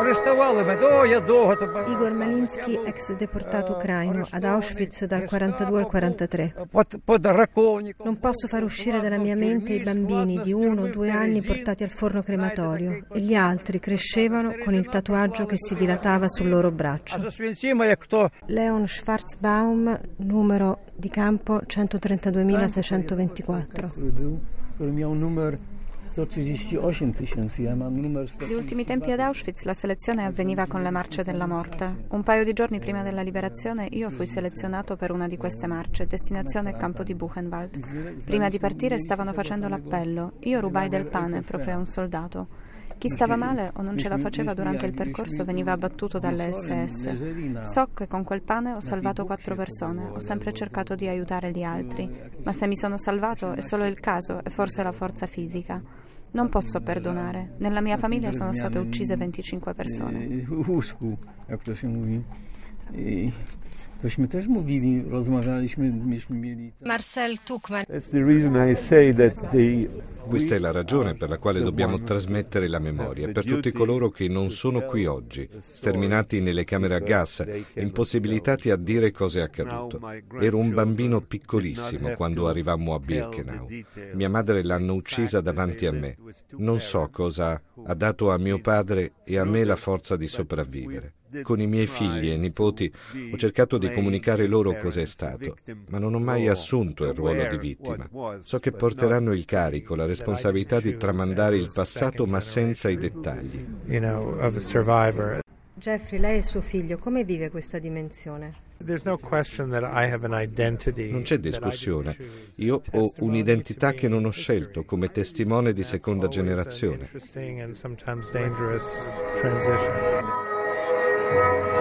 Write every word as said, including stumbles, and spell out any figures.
Igor Malinsky, ex deportato ucraino, ad Auschwitz dal quarantadue al quarantatré. Non posso far uscire dalla mia mente i bambini di uno o due anni portati al forno crematorio e gli altri crescevano con il tatuaggio che si dilatava sul loro braccio. Leon Schwarzbaum, numero di campo centotrentaduemilaseicentoventiquattro. Negli ultimi tempi ad Auschwitz la selezione avveniva con le marce della morte. Un paio di giorni prima della liberazione io fui selezionato per una di queste marce, destinazione campo di Buchenwald. Prima di partire stavano facendo l'appello. Io rubai del pane proprio a un soldato. Chi stava male o non ce la faceva durante il percorso veniva abbattuto dalle esse esse. So che con quel pane ho salvato quattro persone, ho sempre cercato di aiutare gli altri, ma se mi sono salvato è solo il caso e forse la forza fisica. Non posso perdonare. Nella mia famiglia sono state uccise venticinque persone. Tośmy też mówili, rozmawialiśmy, myśmy mieli... Marcel Tuchman. Questa è la ragione per la quale dobbiamo trasmettere la memoria per tutti coloro che non sono qui oggi, sterminati nelle camere a gas, impossibilitati a dire cosa è accaduto. Ero un bambino piccolissimo quando arrivammo a Birkenau. Mia madre l'hanno uccisa davanti a me. Non so cosa ha dato a mio padre e a me la forza di sopravvivere. Con i miei figli e nipoti ho cercato di comunicare loro cos'è stato, ma non ho mai assunto il ruolo di vittima. So che porteranno il carico, la responsabilità di tramandare il passato, ma senza i dettagli. Jeffrey, lei e suo figlio, come vive questa dimensione? Non c'è discussione. Io ho un'identità che non ho scelto come testimone di seconda generazione.